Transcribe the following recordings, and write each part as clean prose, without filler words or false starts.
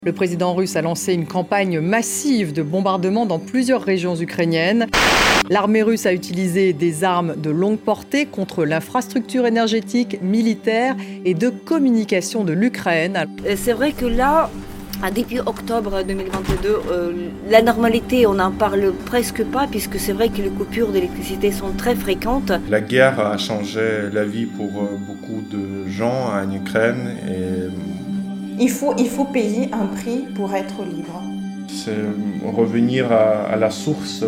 Le président russe a lancé une campagne massive de bombardement dans plusieurs régions ukrainiennes. L'armée russe a utilisé des armes de longue portée contre l'infrastructure énergétique, militaire et de communication de l'Ukraine. C'est vrai que là, depuis octobre 2022, la normalité, on n'en parle presque pas puisque c'est vrai que les coupures d'électricité sont très fréquentes. La guerre a changé la vie pour beaucoup de gens en Ukraine et il faut payer un prix pour être libre. C'est revenir à la source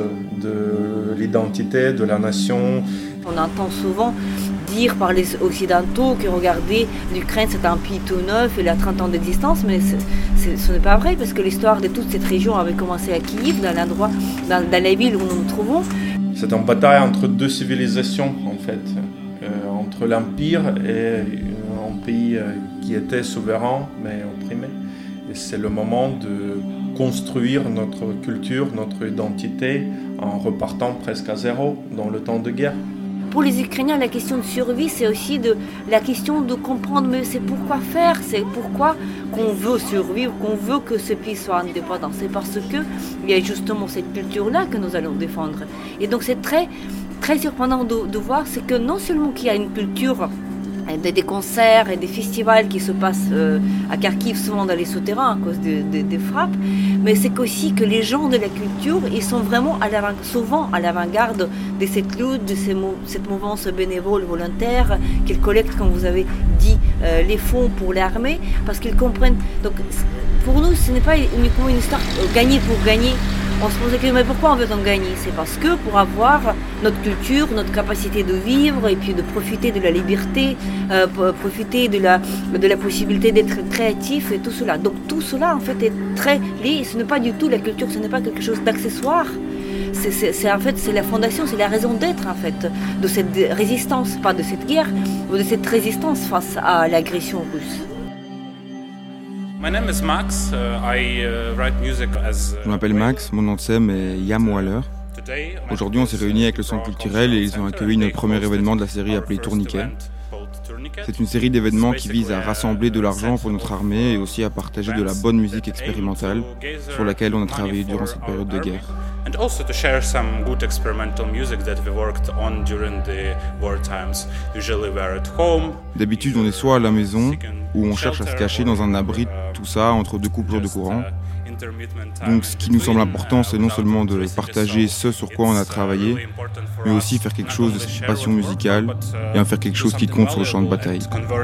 de l'identité de la nation. On entend souvent dire par les Occidentaux que regardez, l'Ukraine c'est un pays tout neuf, il a 30 ans d'existence, mais ce n'est pas vrai parce que l'histoire de toute cette région avait commencé à Kiev, dans la ville où nous nous trouvons. C'est une bataille entre deux civilisations en fait, entre l'Empire et un pays qui était souverain mais opprimé. Et c'est le moment de construire notre culture, notre identité en repartant presque à zéro dans le temps de guerre. Pour les Ukrainiens, la question de survie, c'est aussi la question de comprendre mais c'est pourquoi faire, c'est pourquoi qu'on veut survivre, qu'on veut que ce pays soit indépendant. C'est parce qu'il y a justement cette culture-là que nous allons défendre. Et donc c'est très, très surprenant de voir, c'est que non seulement qu'il y a une culture, des concerts et des festivals qui se passent à Kharkiv, souvent dans les souterrains à cause des frappes, mais c'est qu'aussi que les gens de la culture, ils sont vraiment souvent à l'avant-garde de cette lutte, de cette mouvance bénévole volontaire qu'ils collectent, comme vous avez dit, les fonds pour l'armée, parce qu'ils comprennent. Donc pour nous, ce n'est pas uniquement une histoire gagner pour gagner. On se posait la question, mais pourquoi on veut en gagner? C'est parce que pour avoir notre culture, notre capacité de vivre et puis de profiter de la liberté, profiter de la possibilité d'être créatif et tout cela. Donc tout cela en fait est très lié. Ce n'est pas du tout la culture, ce n'est pas quelque chose d'accessoire. C'est en fait c'est la fondation, c'est la raison d'être en fait de cette résistance, pas de cette guerre, mais de cette résistance face à l'agression russe. Je m'appelle Max, mon nom de scène est Yam Waller. Aujourd'hui, on s'est réunis avec le Centre culturel et ils ont accueilli notre premier événement de la série appelée Tourniquet. C'est une série d'événements qui vise à rassembler de l'argent pour notre armée et aussi à partager de la bonne musique expérimentale sur laquelle on a travaillé durant cette période de guerre. And also to share some good experimental music that we worked on during the war times. Usually we're at home. D'habitude, on est soit à la maison, où on cherche à se cacher dans un abri, tout ça, entre deux coupures de courant. Donc ce qui nous semble important, c'est non seulement de partager ce sur quoi on a travaillé, mais aussi faire quelque chose de cette passion musicale et en faire quelque chose qui compte sur le champ de bataille.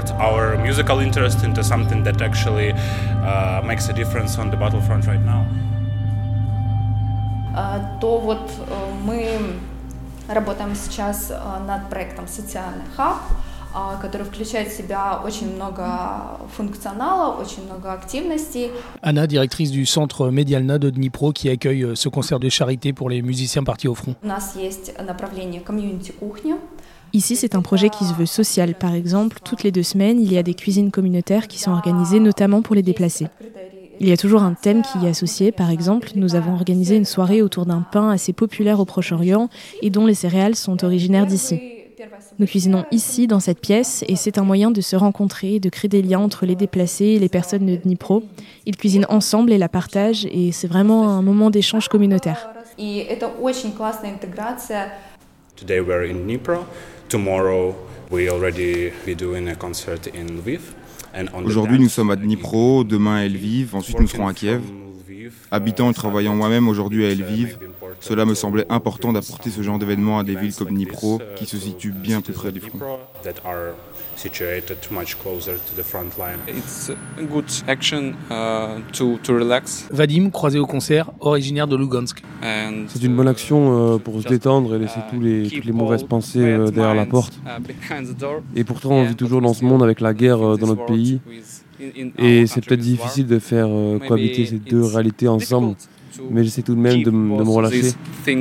То вот мы работаем сейчас над проектом «Социальный хаб», который включает в себя очень много функционала, очень много активностей. Anna, directrice du centre Medialna de Dnipro, qui accueille ce concert de charité pour les musiciens partis au front. У нас есть направление «Комьюнити-кухня». Ici, c'est un projet qui se veut social. Par exemple, toutes les 2 semaines, il y a des cuisines communautaires qui sont organisées notamment pour les déplacés. Il y a toujours un thème qui y est associé. Par exemple, nous avons organisé une soirée autour d'un pain assez populaire au Proche-Orient et dont les céréales sont originaires d'ici. Nous cuisinons ici, dans cette pièce, et c'est un moyen de se rencontrer, de créer des liens entre les déplacés et les personnes de Dnipro. Ils cuisinent ensemble et la partagent, et c'est vraiment un moment d'échange communautaire. Today we're in Dnipro. Tomorrow we already be doing a concert in Lviv. Aujourd'hui, nous sommes à Dnipro, demain à Lviv, ensuite nous serons à Kiev. Habitant et travaillant moi-même aujourd'hui à Lviv, cela me semblait important d'apporter ce genre d'événement à des villes comme Dnipro, qui se situent bien plus près du front. Vadim, croisé au concert, originaire de Lugansk. C'est une bonne action pour se détendre et laisser toutes les mauvaises pensées derrière la porte. Et pourtant, on vit toujours dans ce monde avec la guerre dans notre pays. Et c'est peut-être difficile de faire cohabiter ces deux réalités ensemble, mais j'essaie tout de même de me relâcher.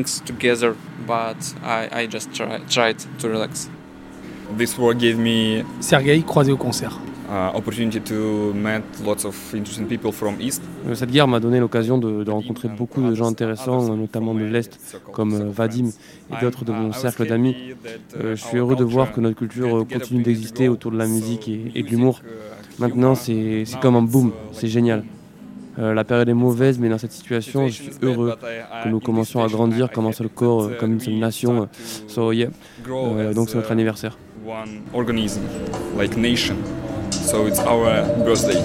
Sergei, croisé au concert. Cette guerre m'a donné l'occasion de rencontrer beaucoup de gens intéressants, notamment de l'Est, comme Vadim et d'autres de mon cercle d'amis. Je suis heureux de voir que notre culture continue d'exister autour de la musique et de l'humour. Maintenant, c'est comme un boom, c'est génial. La période est mauvaise, mais dans cette situation, je suis heureux que nous commencions à grandir comme un seul corps, comme une seule nation. Donc c'est notre anniversaire. One organism, like nation. So it's our birthday.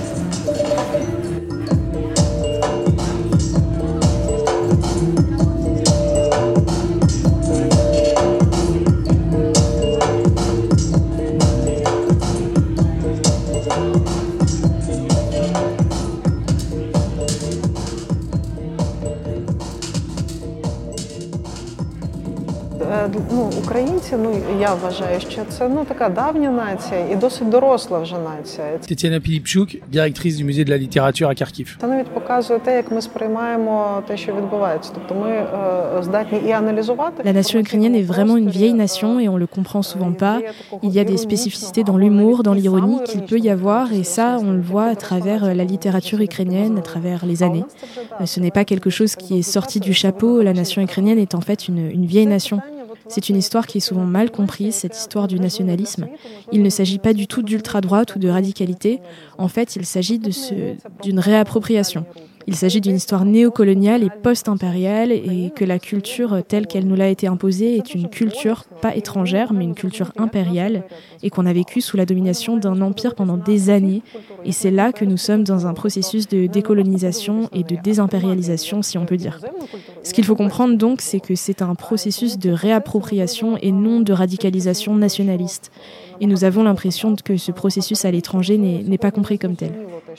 Українці, я вважаю, що це така давня нація і досить доросла вже нація. Tetiana Pilipchuk, directrice du musée de la littérature à Kharkiv. Це навіть показує те, як ми сприймаємо те, що відбувається. Тобто ми здатні і аналізувати. La nation ukrainienne est vraiment une vieille nation et on le comprend souvent pas. Il y a des spécificités dans l'humour, dans l'ironie qu'il peut y avoir et ça, on le voit à travers la littérature ukrainienne, à travers les années. Ce n'est pas quelque chose qui est sorti du chapeau. La nation ukrainienne est en fait une vieille nation. C'est une histoire qui est souvent mal comprise, cette histoire du nationalisme. Il ne s'agit pas du tout d'ultra-droite ou de radicalité. En fait, il s'agit d'une réappropriation. Il s'agit d'une histoire néocoloniale et post-impériale et que la culture telle qu'elle nous l'a été imposée est une culture pas étrangère mais une culture impériale et qu'on a vécue sous la domination d'un empire pendant des années. Et c'est là que nous sommes dans un processus de décolonisation et de désimpérialisation, si on peut dire. Ce qu'il faut comprendre donc, c'est que c'est un processus de réappropriation et non de radicalisation nationaliste. Et nous avons l'impression que ce processus à l'étranger n'est pas compris comme tel.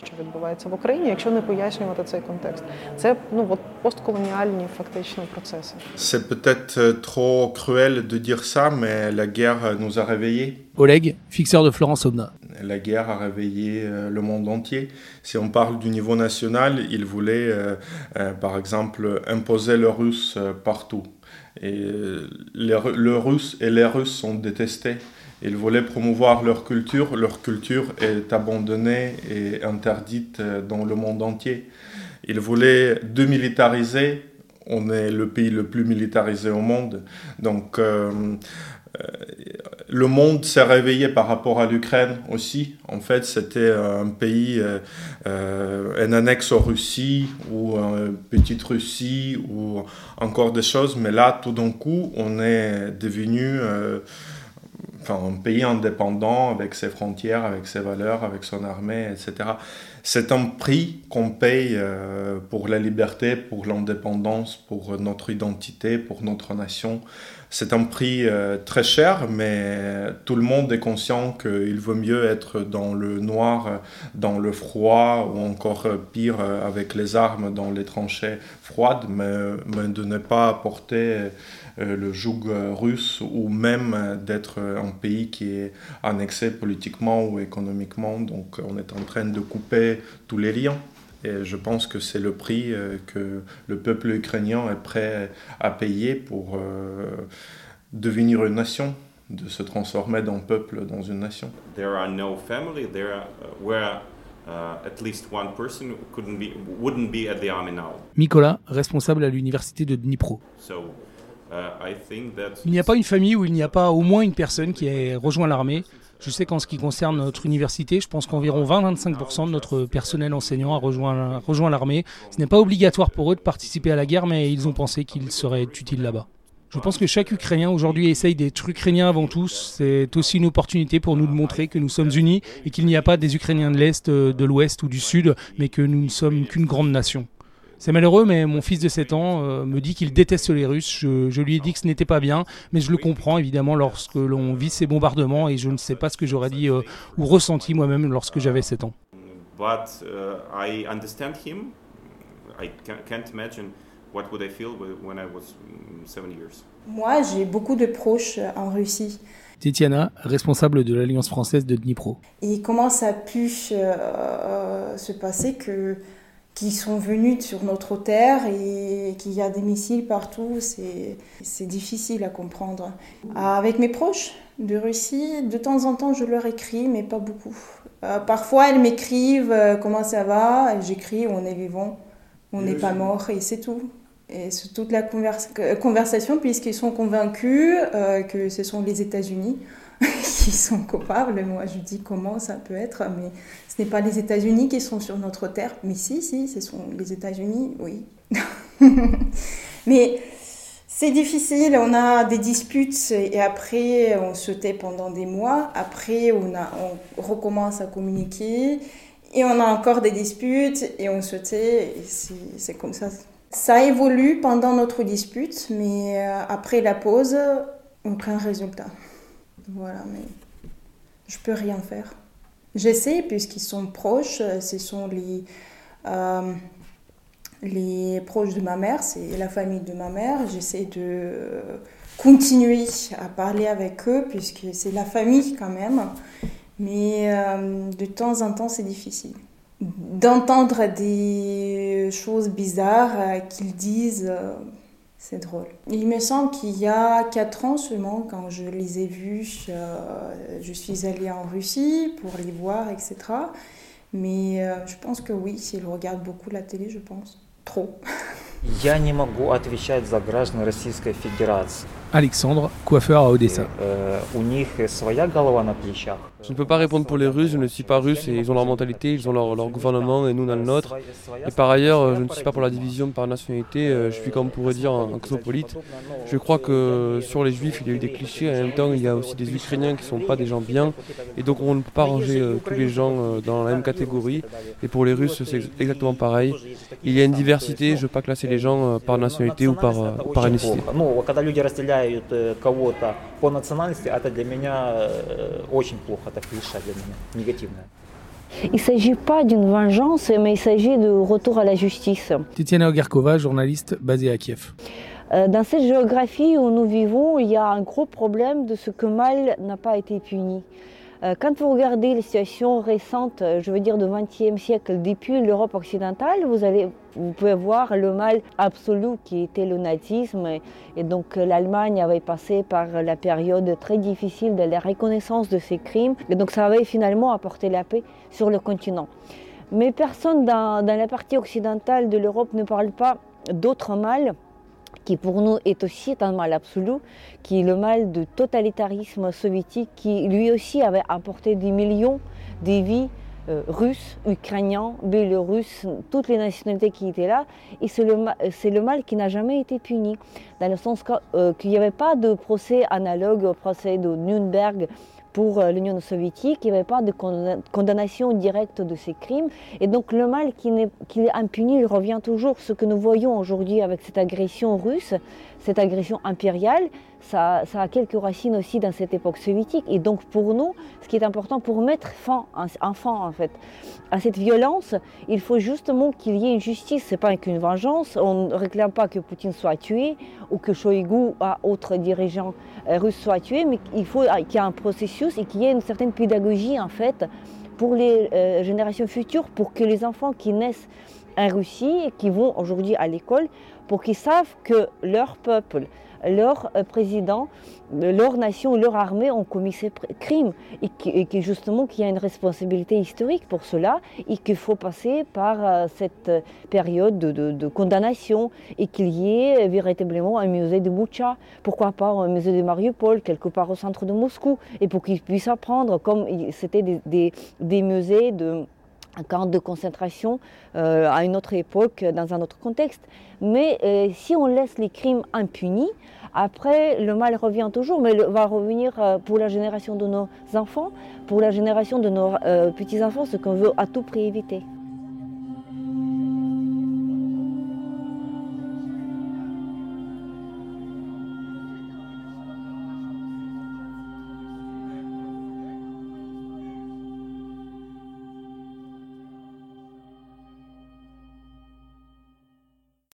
C'est peut-être trop cruel de dire ça, mais la guerre nous a réveillés. Oleg, fixeur de Florence Obna. La guerre a réveillé le monde entier. Si on parle du niveau national, il voulait, par exemple, imposer le russe partout. Et le russe et les Russes sont détestés. Ils voulaient promouvoir leur culture. Leur culture est abandonnée et interdite dans le monde entier. Ils voulaient démilitariser. On est le pays le plus militarisé au monde. Donc, le monde s'est réveillé par rapport à l'Ukraine aussi. En fait, c'était un pays, un annexe aux Russie ou une petite Russie ou encore des choses. Mais là, tout d'un coup, on est devenu un pays indépendant avec ses frontières, avec ses valeurs, avec son armée, etc. C'est un prix qu'on paye pour la liberté, pour l'indépendance, pour notre identité, pour notre nation. C'est un prix très cher, mais tout le monde est conscient qu'il vaut mieux être dans le noir, dans le froid, ou encore pire, avec les armes dans les tranchées froides, mais de ne pas porter le joug russe, ou même d'être un pays qui est annexé politiquement ou économiquement. Donc on est en train de couper tous les liens. Et je pense que c'est le prix que le peuple ukrainien est prêt à payer pour devenir une nation, de se transformer d'un peuple dans une nation. There are no family there where at least one person wouldn't be at the army now. Mikola, responsable à l'université de Dnipro. Il n'y a pas une famille où il n'y a pas au moins une personne qui ait rejoint l'armée. Je sais qu'en ce qui concerne notre université, je pense qu'environ 20-25% de notre personnel enseignant a rejoint l'armée. Ce n'est pas obligatoire pour eux de participer à la guerre, mais ils ont pensé qu'ils seraient utiles là-bas. Je pense que chaque Ukrainien aujourd'hui essaye d'être Ukrainien avant tout. C'est aussi une opportunité pour nous de montrer que nous sommes unis et qu'il n'y a pas des Ukrainiens de l'Est, de l'Ouest ou du Sud, mais que nous ne sommes qu'une grande nation. C'est malheureux, mais mon fils de 7 ans me dit qu'il déteste les Russes. Je lui ai dit que ce n'était pas bien, mais je le comprends évidemment lorsque l'on vit ces bombardements et je ne sais pas ce que j'aurais dit ou ressenti moi-même lorsque j'avais 7 ans. But I understand him. I can't imagine what would I feel when I was 7 years. Moi, j'ai beaucoup de proches en Russie. Tetiana, responsable de l'Alliance française de Dnipro. Et comment ça a pu se passer qu'ils sont venus sur notre terre et qu'il y a des missiles partout, c'est difficile à comprendre. Avec mes proches de Russie, de temps en temps, je leur écris, mais pas beaucoup. Parfois, elles m'écrivent « Comment ça va ?» J'écris « On est vivant, on n'est pas mort » et c'est tout. Et c'est toute la conversation, puisqu'ils sont convaincus que ce sont les États-Unis qui sont coupables. Moi, je dis comment ça peut être, mais ce n'est pas les États-Unis qui sont sur notre terre. Mais si, ce sont les États-Unis, oui. Mais c'est difficile, on a des disputes et après on se tait pendant des mois. Après, on recommence à communiquer et on a encore des disputes et on se tait. Et c'est comme ça. Ça évolue pendant notre dispute, mais après la pause, aucun résultat. Voilà, mais je peux rien faire. J'essaie, puisqu'ils sont proches, ce sont les proches de ma mère, c'est la famille de ma mère. J'essaie de continuer à parler avec eux, puisque c'est la famille quand même. Mais de temps en temps, c'est difficile. D'entendre des choses bizarres qu'ils disent, c'est drôle. Il me semble qu'il y a 4 ans seulement, quand je les ai vus, je suis allée en Russie pour les voir, etc. Mais je pense que oui, s'ils regardent beaucoup la télé, je pense. Trop. Я не могу отвечать за граждан Российской Федерации. Alexandre, coiffeur à Odessa. У них своя голова на плечах. Je ne peux pas répondre pour les Russes, je ne suis pas russe et ils ont leur mentalité, ils ont leur gouvernement et nous on a le nôtre. Et par ailleurs, je ne suis pas pour la division par nationalité, je suis comme on pourrait dire un cosmopolite. Je crois que sur les juifs il y a eu des clichés, en même temps il y a aussi des Ukrainiens qui ne sont pas des gens bien. Et donc on ne peut pas ranger tous les gens dans la même catégorie. Et pour les Russes c'est exactement pareil. Il y a une diversité, je ne veux pas classer les gens par nationalité ou par ethnicité. Кого-то по национальности, это для меня очень плохо, это клише для меня, негативное. Il ne s'agit pas d'une vengeance, mais il s'agit de retour à la justice. Tetiana Ogarkova, journaliste basée à Kiev. Dans cette géographie où nous vivons, il y a un gros problème de ce que mal n'a pas été puni. Quand vous regardez les situations récentes, je veux dire du XXe siècle, depuis l'Europe occidentale, vous pouvez voir le mal absolu qui était le nazisme. Et donc l'Allemagne avait passé par la période très difficile de la reconnaissance de ces crimes. Et donc ça avait finalement apporté la paix sur le continent. Mais personne dans la partie occidentale de l'Europe ne parle pas d'autre mal, qui pour nous est aussi un mal absolu, qui est le mal du totalitarisme soviétique, qui lui aussi avait apporté des millions de vies russes, ukrainiens, biélorusses, toutes les nationalités qui étaient là. Et c'est le mal qui n'a jamais été puni, dans le sens qu'il n'y avait pas de procès analogue au procès de Nuremberg pour l'Union soviétique, il n'y avait pas de condamnation directe de ces crimes. Et donc le mal qui est impuni, il revient toujours. Ce que nous voyons aujourd'hui avec cette agression russe, cette agression impériale, ça a quelques racines aussi dans cette époque soviétique. Et donc pour nous, ce qui est important pour mettre fin en fait, à cette violence, il faut justement qu'il y ait une justice. Ce n'est pas qu'une vengeance. On ne réclame pas que Poutine soit tué ou que Shoigu ou autres dirigeants russes soient tués, mais il faut qu'il y ait un processus et qu'il y ait une certaine pédagogie en fait pour les générations futures, pour que les enfants qui naissent en Russie et qui vont aujourd'hui à l'école, pour qu'ils savent que leur peuple, leur président, leur nation, leur armée ont commis ces crimes et que justement qu'il y a une responsabilité historique pour cela et qu'il faut passer par cette période de condamnation et qu'il y ait véritablement un musée de Boutcha, pourquoi pas un musée de Mariupol, quelque part au centre de Moscou, et pour qu'ils puissent apprendre comme c'était des musées de camp de concentration à une autre époque, dans un autre contexte. Mais si on laisse les crimes impunis, après le mal revient toujours, mais va revenir pour la génération de nos enfants, pour la génération de nos petits-enfants, ce qu'on veut à tout prix éviter.